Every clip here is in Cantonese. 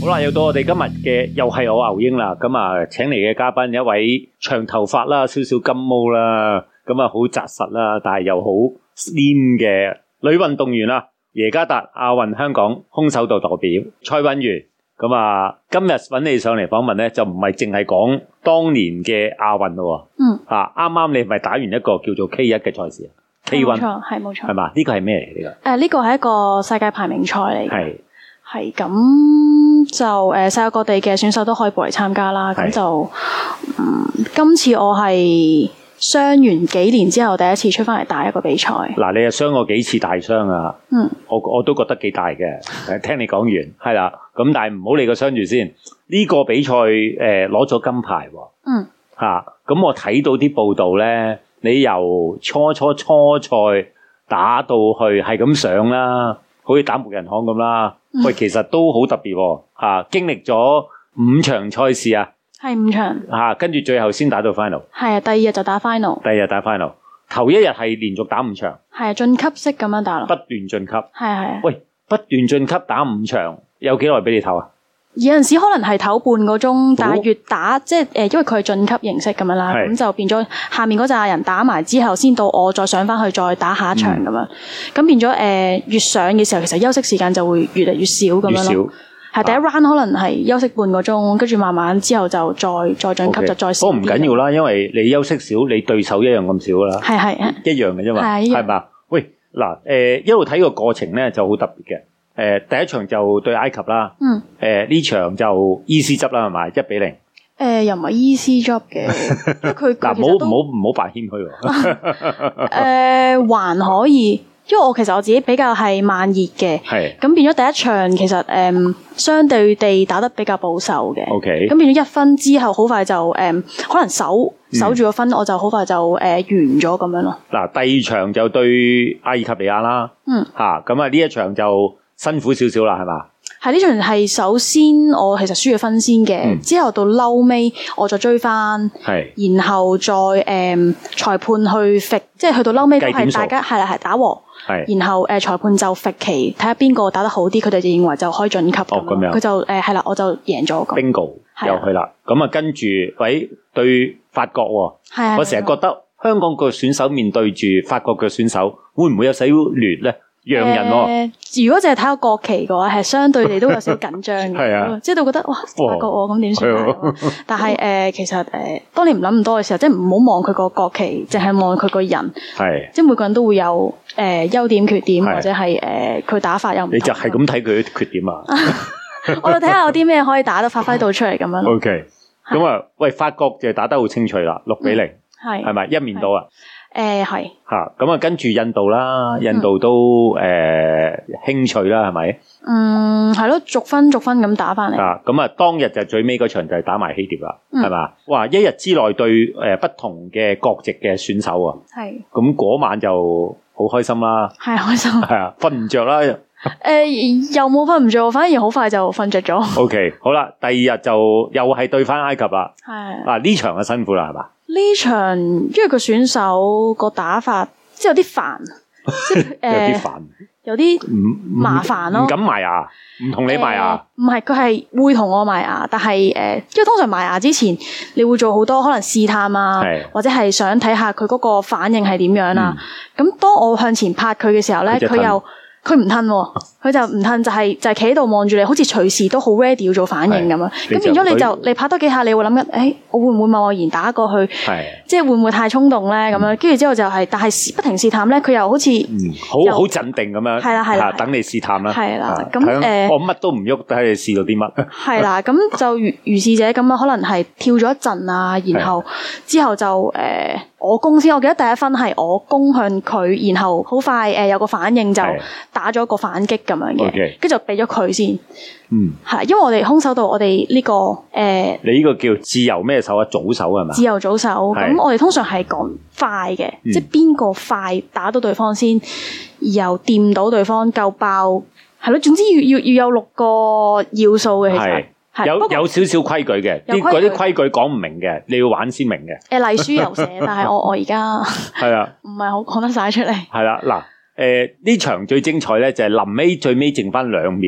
好啦，又到我哋今日嘅又係我牛英啦，咁啊請嚟嘅嘉賓一位長頭髮啦，少少金毛啦，咁啊好紮實啦，但係又好 slim 嘅女運動員啦，耶加達亞運香港空手道代表蔡允如。咁啊今日揾你上嚟訪問咧，就唔係淨係講當年嘅亞運咯。啱啱你係咪打完一個叫做 K1 嘅賽事啊？K1 冇錯， 係嘛？呢個係咩嚟㗎？ 呢個係一個世界排名賽嚟嘅。係咁就世界各地嘅選手都可以報嚟參加啦。咁就今次我係傷完幾年之後第一次出翻嚟打一個比賽。嗱， 你又傷過幾次大傷啊？我都覺得幾大嘅。聽你講完係啦，咁但係唔好理個傷住先。呢個比賽攞咗金牌喎。咁我睇到啲報道咧，你由初賽打到去係咁上啦，好似打木人巷咁啦。喂，其實都好特別喎。經歷咗5場賽事啊。 係5場。 跟住最後先打到 final。 係啊，第二日就打 final。 第二日打 final， 頭一日係連續打5場。係啊， 晉級式咁樣打咯。 不斷晉級。 係。 喂，不斷晉級打5場，有幾耐俾你唞啊？ 有陣時可能係唞半個鐘，但係越打即係因為佢係晉級形式咁樣啦，咁就變咗下面嗰扎人打埋之後，先到我再上翻去再打下一場咁樣，咁變咗越上嘅時候，其實休息時間就會越嚟越少咁樣咯。係第一 round 可能係休息半個鐘，跟住慢慢之後就再晉級就再少啲。 不過唔緊要啦，因為你休息少，你對手一樣咁少啦。 係一樣嘅啫嘛，係嘛？喂，嗱一路睇個過程咧就好特別嘅。第一場就對埃及啦，呢場就 easy 執啦，係咪1-0？ 又唔係 easy job 嘅，因為佢嗱唔好扮謙虛喎。 還可以，因為我其實我自己比較係慢熱嘅，咁變咗第一場其實相對地打得比較保守嘅，咁變咗1分之後好快就可能守住個分，我就好快就完咗咁樣咯。嗱， 第二場就對阿爾及利亞啦，咁啊呢一場就辛苦少少啦，係嘛？ 係呢場係首先我其實輸咗分先嘅，之後到嬲尾我再追翻，然後再裁判去揈，即係去到嬲尾都係大家係打和，然後裁判就揈旗睇下邊個打得好啲，佢哋就認為就可以晉級咁樣，佢就係啦，我就贏咗。 Bingo 又去啦，咁啊跟住對法國喎，我成日覺得香港個選手面對住法國嘅選手，會唔會有少少亂咧？讓人如果淨係睇個國旗嘅話，係相對地都有少少緊張嘅，即係都覺得哇法國咁點算？但係其實當你唔諗咁多嘅時候，即係唔好望佢個國旗，淨係望佢個人。即係每個人都會有優點缺點，或者係佢打法有唔同。 你就係咁睇佢啲缺點啊？ 我就睇下有啲咩可以打得發揮到出嚟咁樣。 OK，咁啊，喂，法國就打得好清脆啦，6-0，係咪一面倒啊？ 係咁啊，跟住印度啦，印度都輕脆啦，係咪？ 係咯，逐分咁打翻嚟。 咁啊，當日就最尾嗰場就係打埋希臘啦，係嘛？哇！一日之內對不同嘅國籍嘅選手啊，咁嗰晚就好開心啦，係開心，係啊，瞓唔着啦。 又冇瞓唔着，反而好快就瞓着咗。 OK， 好啦，第二日就又係對翻埃及啦。係呢場就辛苦啦，係嘛？ 呢場因為個選手個打法即係有啲煩，即係有啲煩， 有啲麻煩咯。 唔敢埋牙，唔同你埋牙。 唔係，佢係會同我埋牙，但係因為通常埋牙之前，你會做好多可能試探啊，或者係想睇下佢嗰個反應係點樣啊。咁當我向前拍佢嘅時候咧，佢唔褪喎，佢就唔褪，就係企喺度望住你，好似隨時都好 ready 要做反應咁樣。咁變咗你拍多幾下，你會諗緊，我會唔會貿然打過去？即係會唔會太衝動咧？咁樣跟住之後就係，但係不停試探咧，佢又好似好鎮定咁樣。係啦，等你試探啦。係啦，咁我乜都唔喐，睇你試到啲乜。係啦，咁就如是者咁樣，可能係跳咗一陣啊，然後之後就我攻先，我記得第一分係我攻向佢，然後好快有個反應就打咗個反擊咁樣嘅，跟住就俾咗佢先。係，因為我哋空手道我哋呢個你呢個叫自由咩手啊？組手係嘛？ 自由組手，咁我哋通常係講快嘅，即係邊個快打到對方先，又掂到對方夠爆，係咯。總之要有6個要素嘅，其實。有少少規矩嘅， 嗰啲規矩講唔明嘅，你要玩先明嘅。 例書有寫，但係我而家係啊，唔係好講得晒出嚟。 係啦，嗱，呢場最精彩咧就係臨尾最尾剩翻2秒咧，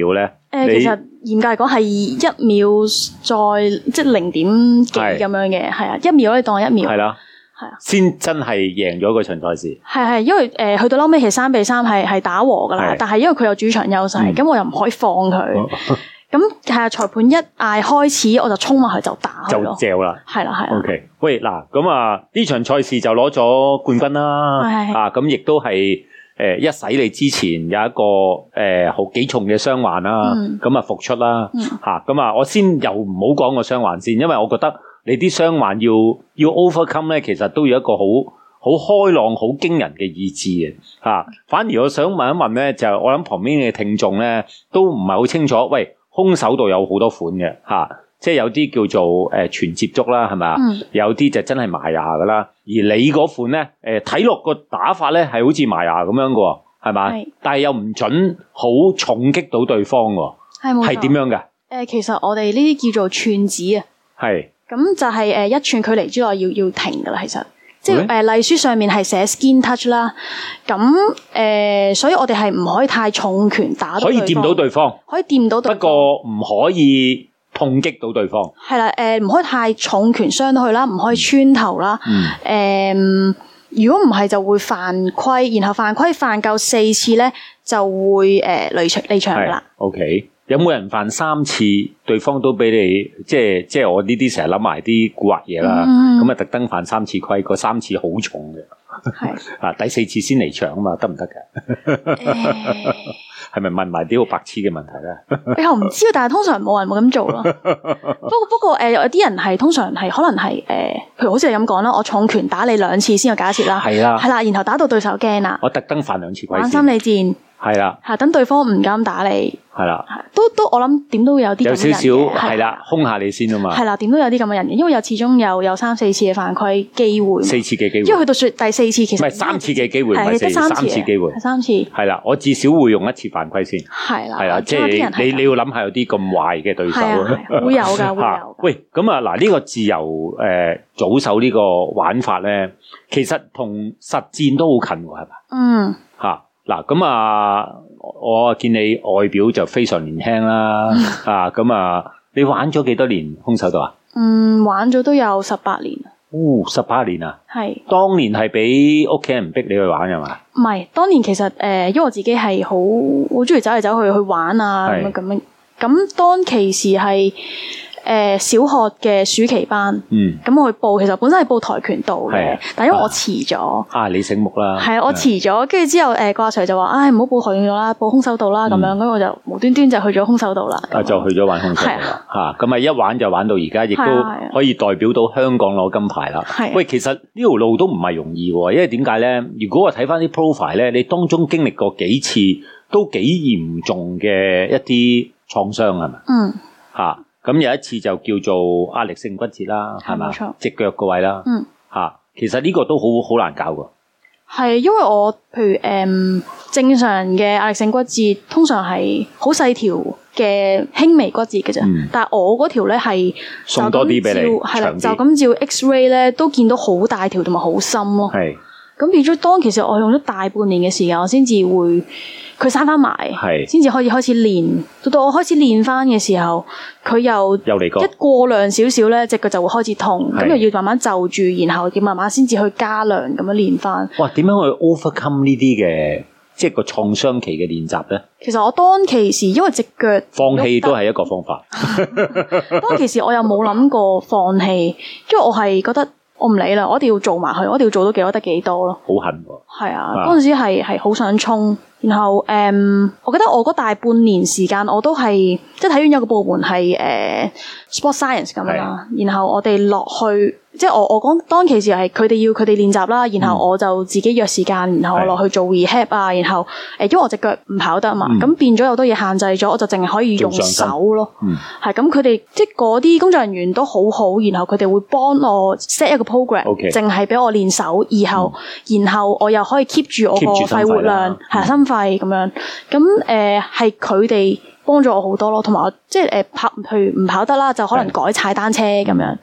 其實嚴格嚟講係1秒再即係0點幾咁樣嘅，係啊，1秒你當1秒。係啦。係啊， 先真係贏咗嗰場賽事。 係，因為去到後尾其實3-3係打和噶啦，但係因為佢有主場優勢，咁我又唔可以放佢。咁係啊，裁判一嗌開始，我就衝埋去就打佢咯， 就嚼啦。 係啦。 OK， 喂嗱，咁啊呢場賽事就攞咗冠軍啦。啊，咁亦都係一洗你之前有一個好幾重嘅傷患啦，咁啊復出啦。吓，咁啊我先又唔好講個傷患先，因為我覺得。你啲傷患要 overcome 咧，其實都要一個好開朗、好驚人嘅意志嘅嚇。反而我想問一問咧，就我諗旁邊嘅聽眾咧都唔係好清楚。喂，空手道有好多款嘅嚇，即係有啲叫做全接觸啦，係咪啊？有啲就真係埋牙噶啦。而你嗰款咧，睇落個打法咧係好似埋牙咁樣嘅，係咪？但係又唔準好重擊到對方喎。係點樣嘅？ 其實我哋呢啲叫做寸指啊。 係。 咁就係1寸距離之內要停噶啦，其實即係例書上面係寫 skin touch 啦。咁所以我哋係唔可以太重拳打到對方。可以掂到對方，可以掂到對方，不過唔可以痛擊到對方。係啦，唔可以太重拳傷到佢啦，唔可以穿頭啦。如果唔係就會犯規，然後犯規犯夠4次咧就會離場噶啦。OK。有冇人犯3次，對方都俾你即係我呢啲成日諗埋啲蠱惑嘢啦，咁啊特登犯3次規，嗰3次好重嘅，啊第4次先離場啊嘛，得唔得嘅？係咪問埋啲好白痴嘅問題咧？我唔知道，但係通常冇人會咁做咯。不過有啲人係通常係可能係譬如好似你咁講啦，我重拳打你2次先有假設啦，係啦，然後打到對手驚啦， 我特登犯2次規， 玩心理戰。係啦，等對方唔敢打你。係啦，都我諗點都會有啲咁嘅人嘅。有少少係啦，兇下你先啊嘛。係啦，點都有啲咁嘅人嘅，因為始終有3-4次嘅犯規機會。4次嘅機會。因為去到第4次其實唔係3次嘅機會，唔係3次機會。係3次。係啦，我至少會用1次犯規先。係啦，係啦，即係你要諗下有啲咁壞嘅對手。會有㗎，會有。喂，咁啊嗱，呢個自由組手呢個玩法咧，其實同實戰都好近喎，係嘛？嚇。嗱咁啊，我見你外表就非常年輕啦，咁啊，你玩咗幾多年空手道啊？ 玩咗都有18年。 18年啊？係。當年係俾屋企人逼你去玩係嘛？ 唔係，當年其實因為我自己係好中意走嚟走去玩啊咁樣，咁當其時係。小學嘅暑期班，咁我去報，其實本身係報跆拳道嘅，但因為我遲咗，你醒目啦，係啊，我遲咗，跟住之後個阿 Sir 就話，唔好報跆拳道啦，報空手道啦，咁樣，咁我就無端端就去咗空手道啦，就去咗玩空手道啦，咁啊一玩就玩到而家，亦都可以代表到香港攞金牌啦。喂，其實呢條路都唔係容易喎，因為點解咧？如果我睇翻啲 profile 咧，你當中經歷過幾次都幾嚴重嘅一啲創傷係咪？咁有一次就叫做壓力性骨折啦，係嘛？隻腳個位啦，其實呢個都好難搞噶。係因為我譬如正常嘅壓力性骨折通常係好細條嘅輕微骨折嘅啫，但係我嗰條咧係送多啲俾你，係啦，就咁照 X-ray 咧都見到好大條同埋好深咯。係咁變咗，當其實我用咗大半年嘅時間，我先至會佢生翻埋，先至可以開始練。到我開始練翻嘅時候，佢又嚟過一過量少少咧，隻腳就會開始痛，咁又要慢慢就住，然後要慢慢先至去加量咁樣練翻。哇！點樣去 overcome 呢啲嘅即係個創傷期嘅練習咧？其實我當其時因為隻腳放棄都係一個方法。當其時我又冇諗過放棄，因為我係覺得。我唔理啦，我一定要做埋佢，我一定要做到幾多得幾多咯。好恨喎！係啊，嗰陣時係好想衝，然後我記得我嗰大半年時間我都係即係體院有個部門係sport science 咁樣啦，然後我哋落去。即係我講當其時係佢哋要佢哋練習啦，然後我就自己約時間，然後我落去做 rehab 啊，然後因為我隻腳唔跑得啊嘛，咁變咗有好多嘢限制咗，我就淨係可以用手咯。係咁，佢哋即係嗰啲工作人員都好好，然後佢哋會幫我 set 一個 program，淨係俾我練手，然後我又可以 keep 住我個肺活量，係心肺咁樣。咁係佢哋幫咗我好多咯，同埋我即係譬如唔跑得啦，就可能改踩單車咁樣。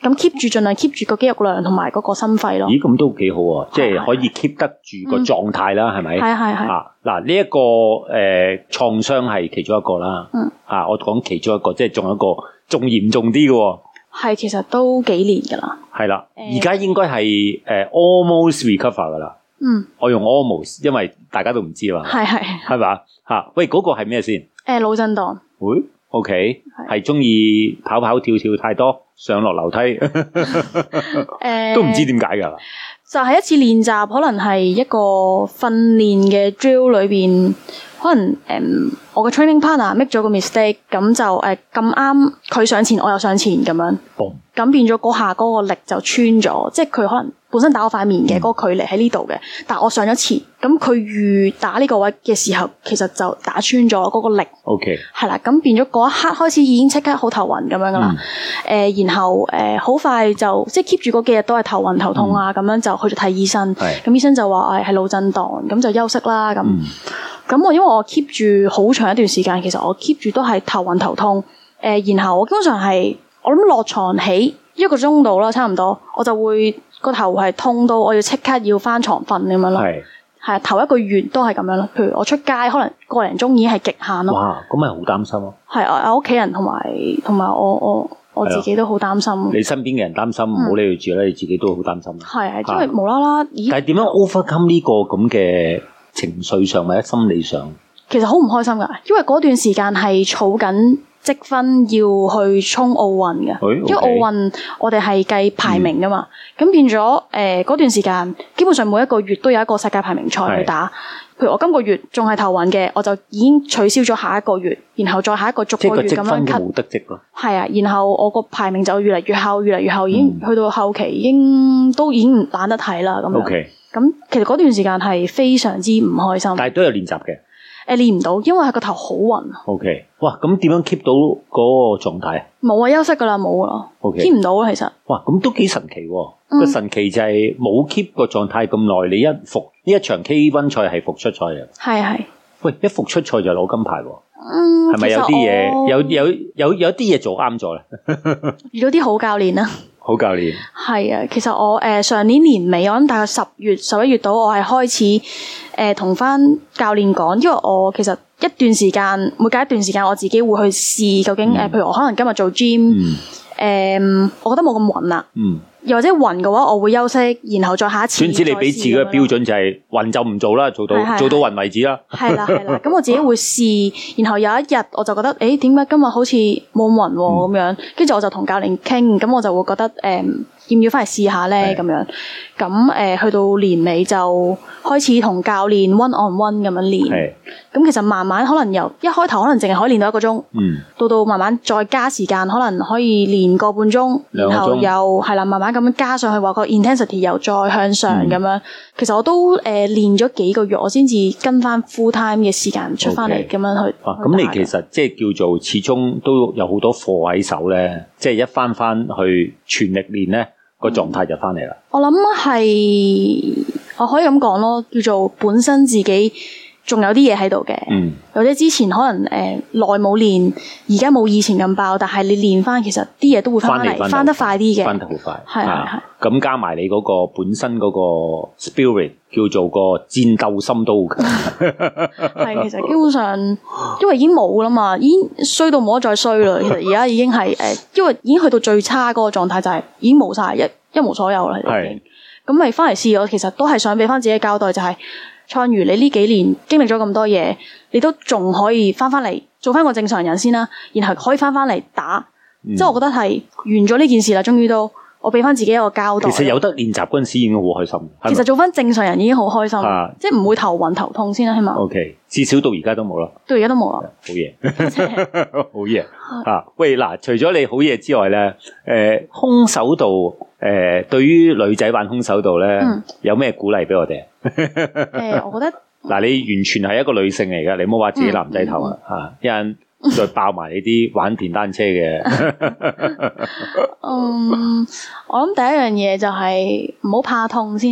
咁 keep 住盡量 keep 住個肌肉量同埋嗰個心肺咯。 咦，咁都幾好啊，即係可以 keep 得住個狀態啦，係咪？ 係。 嗱，呢一個創傷係其中一個啦。我講其中一個，即係仲有一個仲嚴重啲嘅。 係，其實都幾年噶啦。 係啦，而家應該係almost recover 噶啦。我用 almost， 因為大家都唔知啊嘛。係嘛？喂，嗰個係咩先？腦震盪。 會 OK， 係中意跑跑跳跳太多，上落樓梯，都唔知點解噶。 就係一次練習，可能係一個訓練嘅 drill 裏邊，可能我嘅 training partner make 咗個 mistake， 咁就咁啱佢上前，我又上前咁樣，咁變咗嗰下嗰個力就穿咗，即係佢可能本身打我塊面嘅嗰個距離喺呢度嘅，但我上咗前，咁佢預打呢個位嘅時候，其實就打穿咗嗰個力。OK， 係啦，咁變咗嗰一刻開始已經即刻好頭暈咁樣噶啦，然後好快就即係 keep 住嗰幾日都係頭暈頭痛啊，咁樣就去咗睇醫生，咁醫生就話係腦震盪，咁就休息啦咁。咁我因為我 keep 住好長一段時間，其實我 keep 住都係頭暈頭痛，然後我基本上係我諗落床起1個鐘度啦，差唔多，我就會個頭係痛到我要即刻要翻床瞓咁樣咯。係頭1個月都係咁樣咯。譬如我出街可能個零鐘已經係極限咯。哇，咁咪好擔心咯。係我屋企人同埋我自己都好擔心。你身邊嘅人擔心，唔好理佢住啦，你自己都好擔心。係因為無啦啦，但係點樣 overcome 呢個咁嘅情緒上或者心理上？其實好唔開心噶，因為嗰段時間係儲緊積分要去衝奧運嘅，因為奧運我哋係計排名噶嘛，咁變咗嗰段時間基本上每一個月都有一個世界排名賽去打。譬如我今個月仲係頭暈嘅，我就已經取消咗下一個月，然後再下一個逐個月咁樣 cut。即係個積分冇得積咯。係啊，然後我個排名就越嚟越後，越嚟越後，已經去到後期已經唔懶得睇啦咁樣。咁其實嗰段時間係非常之唔開心。但係都有練習嘅。練唔到，因為係個頭好暈。OK， 哇，咁點樣 keep 到嗰個狀態？冇啊，休息噶啦，冇啦。keep 唔到啊，其實。哇，咁都幾神奇喎！個神奇就係冇 keep 個狀態咁耐，你呢一場 K1 賽係復出賽嘅。係。喂，一復出賽就攞金牌喎。係咪有啲嘢有啲嘢做啱咗咧？遇到啲好教練啦。好教練。係啊，其實我上年年尾，我諗大概10月、11月到，我係開始同翻教練講，因為我其實一段時間，每隔一段時間，我自己會去試究竟譬如我可能今日做 gym，我覺得冇咁暈啦。又或者暈嘅話，我會休息，然後再下一次。總之你俾自己嘅標準就係暈就唔做啦，做到暈為止啦。係啦，咁我自己會試，然後有一日我就覺得，點解今日好似冇咁暈咁樣？跟住我就同教練傾，咁我就會覺得要唔要翻嚟試下咧咁樣。咁去到年尾就開始同教練 one on one 咁樣練。咁其實慢慢可能由一開頭可能淨係可以練到1個鐘，到慢慢再加時間，可能可以練個半鐘，然後又係啦，慢慢咁樣加上去，話個 intensity 又再向上咁樣。其實我都練咗幾個月，我先至跟翻 full time 嘅時間出翻嚟咁樣去。咁你其實即係叫做始終都有好多課喺手咧，即係一翻去全力練咧，個狀態就翻嚟啦。我諗係我可以咁講咯，叫做本身自己仲有啲嘢喺度嘅，或者之前可能耐冇練，而家冇以前咁爆，但係你練翻，其實啲嘢都會翻嚟，翻得快啲嘅，翻得好快。係。咁加埋你嗰個本身嗰個 spirit， 叫做個戰鬥心都好強。係，其實基本上因為已經冇啦嘛，已經衰到冇得再衰啦。其實而家已經係因為已經去到最差嗰個狀態，就係已經冇晒，一無所有啦。係。咁咪翻嚟試，我其實都係想俾翻自己交代，就係創如你呢幾年經歷咗咁多嘢，你都仲可以翻嚟做翻個正常人先啦，然後可以翻嚟打，即係我覺得係完咗呢件事啦，終於都我俾翻自己一個交代。其實有得練習嗰陣時已經好開心。其實做翻正常人已經好開心，即係唔會頭暈頭痛先啦，起碼。OK， 至少到而家都冇啦。到而家都冇啦。好嘢，好嘢啊！喂，嗱，除咗你好嘢之外咧，空手道對於女仔玩空手道咧，有咩鼓勵俾我哋？我覺得嗱，你完全係一個女性嚟噶，你唔好話自己男仔頭啊！一陣再爆埋你啲玩電單車嘅。我諗第一樣嘢就係唔好怕痛先。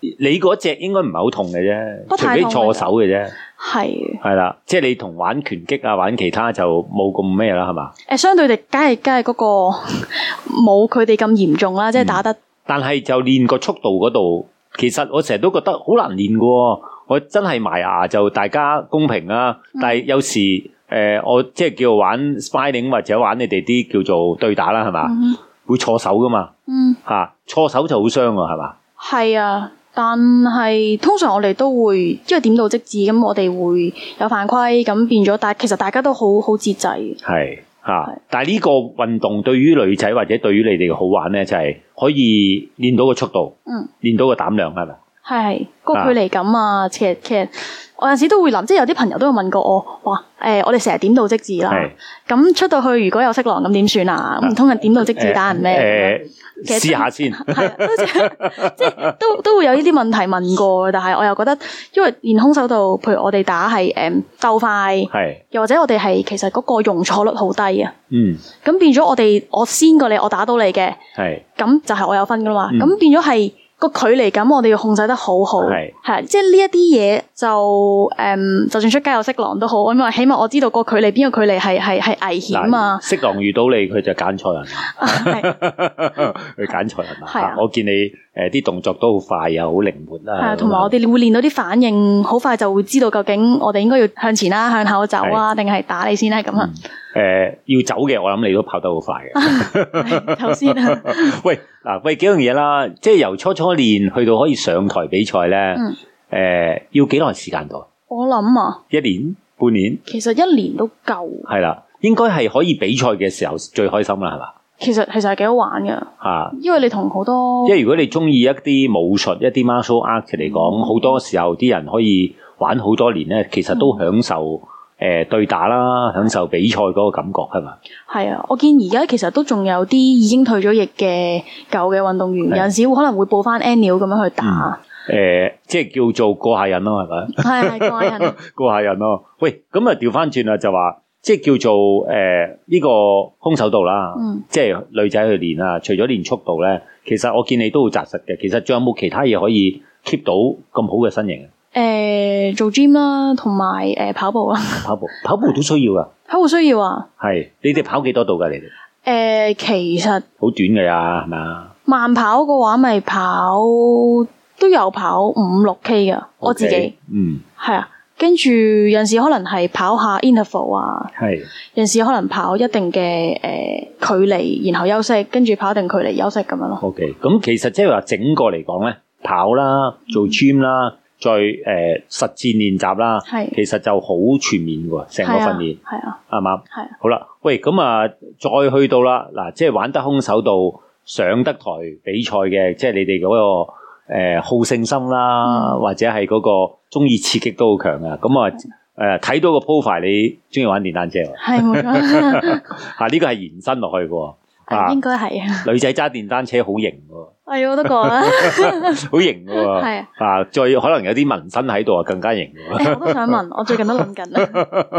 你嗰隻應該唔係好痛嘅啫，除非錯手嘅啫。係啦，即係你同玩拳擊啊，玩其他就冇咁咩啦，係嘛？ 相對地，梗係嗰個冇佢哋咁嚴重啦，即係打得。 但係就練個速度嗰度，其實我成日都覺得好難練嘅。我真係埋牙就大家公平啊，但係有時我即係叫玩 sparring 或者玩你哋啲叫做對打啦，係嘛？會錯手噶嘛？錯手就好傷啊，係嘛？ 係啊。但係通常我哋都會，因為點到即止，咁我哋會有犯規，咁變咗，但係其實大家都好節制。 係但係呢個運動對於女仔或者對於你哋嘅好玩咧，就係可以練到個速度，練到個膽量，係咪？係個距離感啊，其實我有陣時都會諗，即係有啲朋友都會問過我，話我哋成日點到即止啦，咁出到去如果有色狼咁點算啊？唔通係點到即止打人咩？ 試下先， 即係都會有呢啲問題問過，但係我又覺得，因為練空手道，譬如我哋打係鬥快，又或者我哋係其實嗰個容錯率好低啊。咁變咗我先過你，我打到你嘅，咁就係我有分噶嘛。咁變咗係個距離感，我哋要控制得好好，係即係呢一啲嘢就算出街有色狼都好，因為起碼我知道個距離邊個距離係危險啊。 色狼遇到你，佢就揀錯人，佢揀錯人啊！我見你啲動作都好快啊，好靈活啦。 同埋我哋會練到啲反應，好快就會知道究竟我哋應該要向前啦，向後走啊，定係打你先咧咁啊。 要走嘅，我諗你都跑得好快嘅。 頭先啊， 喂，幾樣嘢啦，即係由初練去到可以上台比賽咧，要幾耐時間度？ 我諗啊 ，1年、半年， 其實1年都夠。 係啦，應該係可以比賽嘅時候最開心啦，係嘛？ 其實係幾好玩噶，因為你同好多， 因為如果你中意一啲武術、一啲 martial art 嚟講，好多時候啲人可以玩好多年咧，其實都享受。對打啦，享受比賽嗰個感覺係嘛？係啊，我見而家其實都仲有啲已經退咗役嘅舊嘅運動員，有陣時可能會報翻 annual 咁樣去打。 即係叫做過下癮咯，係咪？ 係過下癮。 過下癮咯。喂，咁啊調翻轉啦，就話即係叫做呢個空手道啦，即係女仔去練啊。除咗練速度咧，其實我見你都好紮實嘅。其實仲有冇其他嘢可以 keep 到咁好嘅身形？ 做 gym 啦，同埋跑步啦。 跑步都需要噶。 跑步需要啊。 係，你哋跑幾多度噶？你哋？ 其實好短嘅呀，係咪啊？ 慢跑嘅話，咪跑都有跑5-6K 噶，我自己。係啊，跟住有陣時可能係跑下 interval 啊。係。有陣時可能跑一定嘅距離，然後休息，跟住跑一定距離休息咁樣咯。 OK，咁其實即係話整個嚟講咧，跑啦，做 gym 啦。再實戰練習啦，其實就好全面喎，成個訓練，係嘛？係。好啦，喂，咁啊，再去到啦，嗱，即係玩得空手道上得台比賽嘅，即係你哋嗰個好勝心啦，或者係嗰個中意刺激都好強啊。咁啊，睇到個 profile，你中意玩電單車喎？係冇錯。呢個係延伸落去嘅。 應該係啊， 女仔揸電單車好型喎， 係我都覺得好型喎，係啊，再可能有啲紋身喺度啊，更加型喎。 我都想問，我最近都諗緊啦。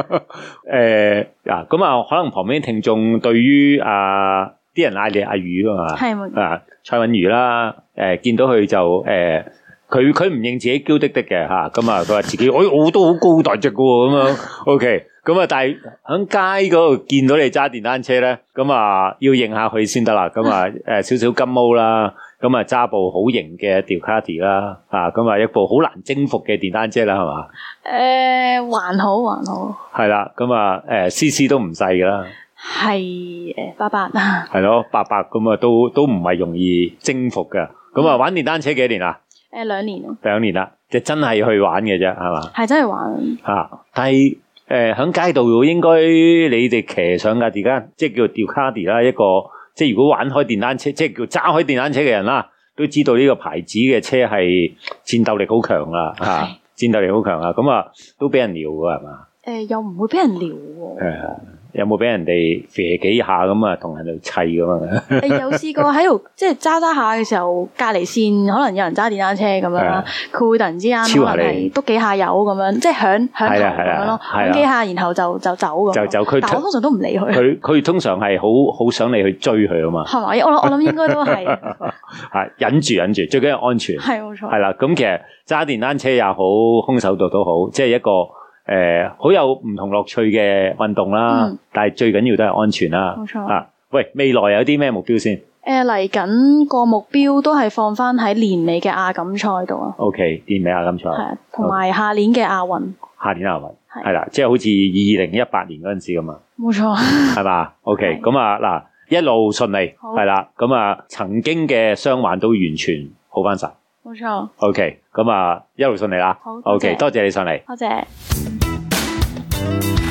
咁啊，可能旁邊聽眾對於啲人嗌你阿魚噶嘛，係蔡允如啦，見到佢就佢唔認自己嬌滴滴嘅吓，咁啊，佢話自己我都好高大隻噶喎，咁樣 OK。咁啊，但係喺街嗰度見到你揸電單車咧，咁啊要認下佢先得啦。咁啊，少少金毛啦，咁啊揸部好型嘅 Ducati 啦，咁啊一部好難征服嘅電單車啦，係嘛？ 還好。係啦，咁啊，CC 都唔細噶啦。 係88啊。係咯，88咁啊，都唔係容易征服噶。咁啊，玩電單車幾年啦 ？2年咯。 2年啦，即係真係去玩嘅啫，係嘛？ 係真係玩。 但係。喺街道應該你哋騎上架而家即係叫 Ducati 啦，一個即係如果玩開電單車，即係叫揸開電單車嘅人啦，都知道呢個牌子嘅車係戰鬥力好強啦，戰鬥力好強啊！咁啊，都俾人撩㗎係嘛？ 又唔會俾人撩喎。 有冇俾人哋射幾下咁啊？同人哋砌咁啊？ 有試過喺度即係揸下嘅時候，隔離線可能有人揸電單車咁樣啦，佢會突然之間可能係篤幾下油咁樣，即係響頭咁樣咯，響幾下然後就走咁。就佢，但我通常都唔理佢。佢通常係好想你去追佢啊嘛。 係嘛？我諗應該都係。 係忍住，最緊要安全。 係冇錯。係啦，咁其實揸電單車也好，空手道都好，即係一個好有唔同樂趣嘅運動啦。但係最緊要都係安全啦。 冇錯。 喂，未來有啲咩目標先？ 嚟緊個目標都係放翻喺年尾嘅亞錦賽度啊。 OK， 年尾亞錦賽。 係啊，同埋下年嘅亞運。 下年亞運係啦，即係好似2018年嗰陣時咁啊。 冇錯。係嘛 ？OK， 咁啊嗱，一路順利係啦，咁啊曾經嘅傷患都完全好翻晒。 冇錯。 OK， 咁啊一路順利啦。 好。 OK， 多謝你上嚟。 多謝。